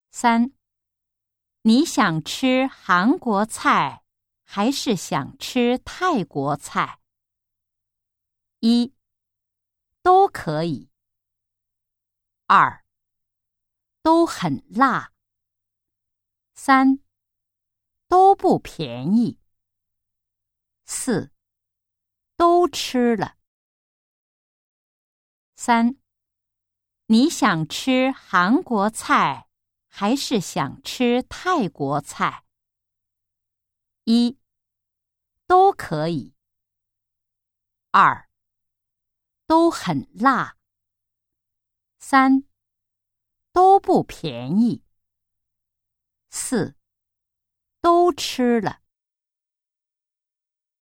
3. 你想吃韩国菜还是想吃泰国菜？1. 都可以。2. 都很辣。3. 都不便宜。4. 都吃了。3. 你想吃韩国菜还是想吃泰国菜？1. 都可以。2. 都很辣。3. 都不便宜。4. 都吃了。